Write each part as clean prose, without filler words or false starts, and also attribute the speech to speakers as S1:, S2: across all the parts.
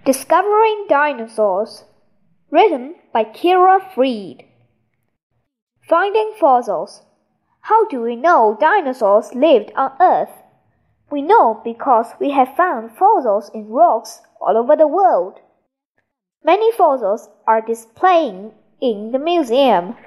S1: Discovering Dinosaurs, written by Kira Freed. Finding fossils. How do we know dinosaurs lived on Earth? We know because we have found fossils in rocks all over the world. Many fossils are displayed in the museum.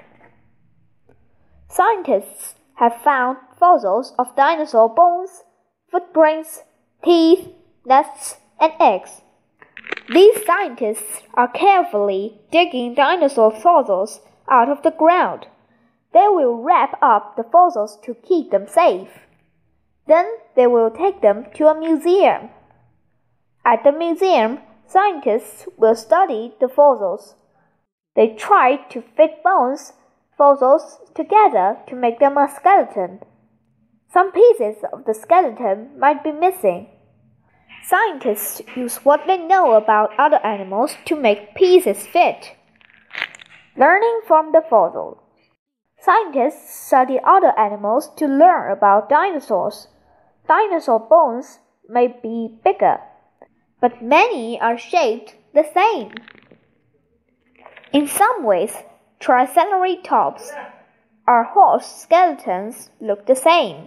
S1: Scientists have found fossils of dinosaur bones, footprints, teeth, nests, and eggs. These scientists are carefully digging dinosaur fossils out of the ground. They will wrap up the fossils to keep them safe. Then they will take them to a museum. At the museum, scientists will study the fossils. They try to fit fossils together to make them a skeleton. Some pieces of the skeleton might be missing. Scientists use what they know about other animals to make pieces fit. Learning from the fossils. Scientists study other animals to learn about dinosaurs. Dinosaur bones may be bigger, but many are shaped the same. In some ways, Triceratops or horse skeletons look the same.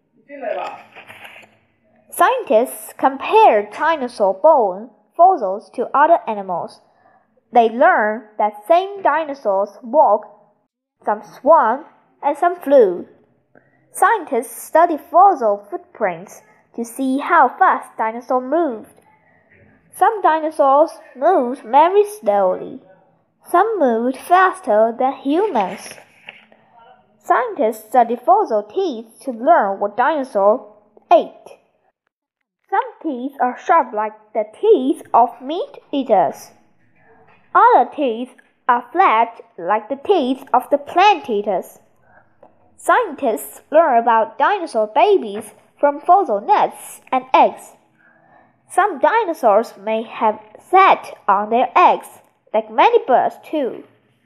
S1: Scientists compare dinosaur bone fossils to other animals. They learn that some dinosaurs walked, some swam, and some flew. Scientists study fossil footprints to see how fast dinosaurs moved. Some dinosaurs moved very slowly. Some moved faster than humans. Scientists study fossil teeth to learn what dinosaurs ate. Some teeth are sharp like the teeth of meat eaters. Other teeth are flat like the teeth of the plant eaters. Scientists learn about dinosaur babies from fossil nests and eggs. Some dinosaurs may have sat on their eggs, like many birds too.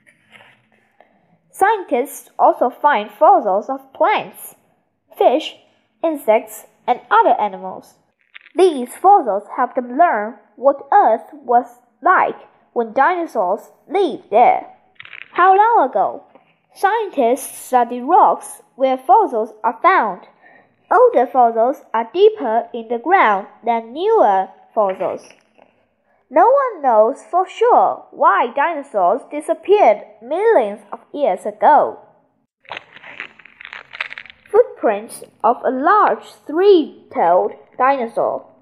S1: Scientists also find fossils of plants, fish, insects, and other animals. These fossils help them learn what Earth was like when dinosaurs lived there. How long ago? Scientists study rocks where fossils are found. Older fossils are deeper in the ground than newer fossils. No one knows for sure why dinosaurs disappeared millions of years ago. Footprints of a large three-toed dinosaur.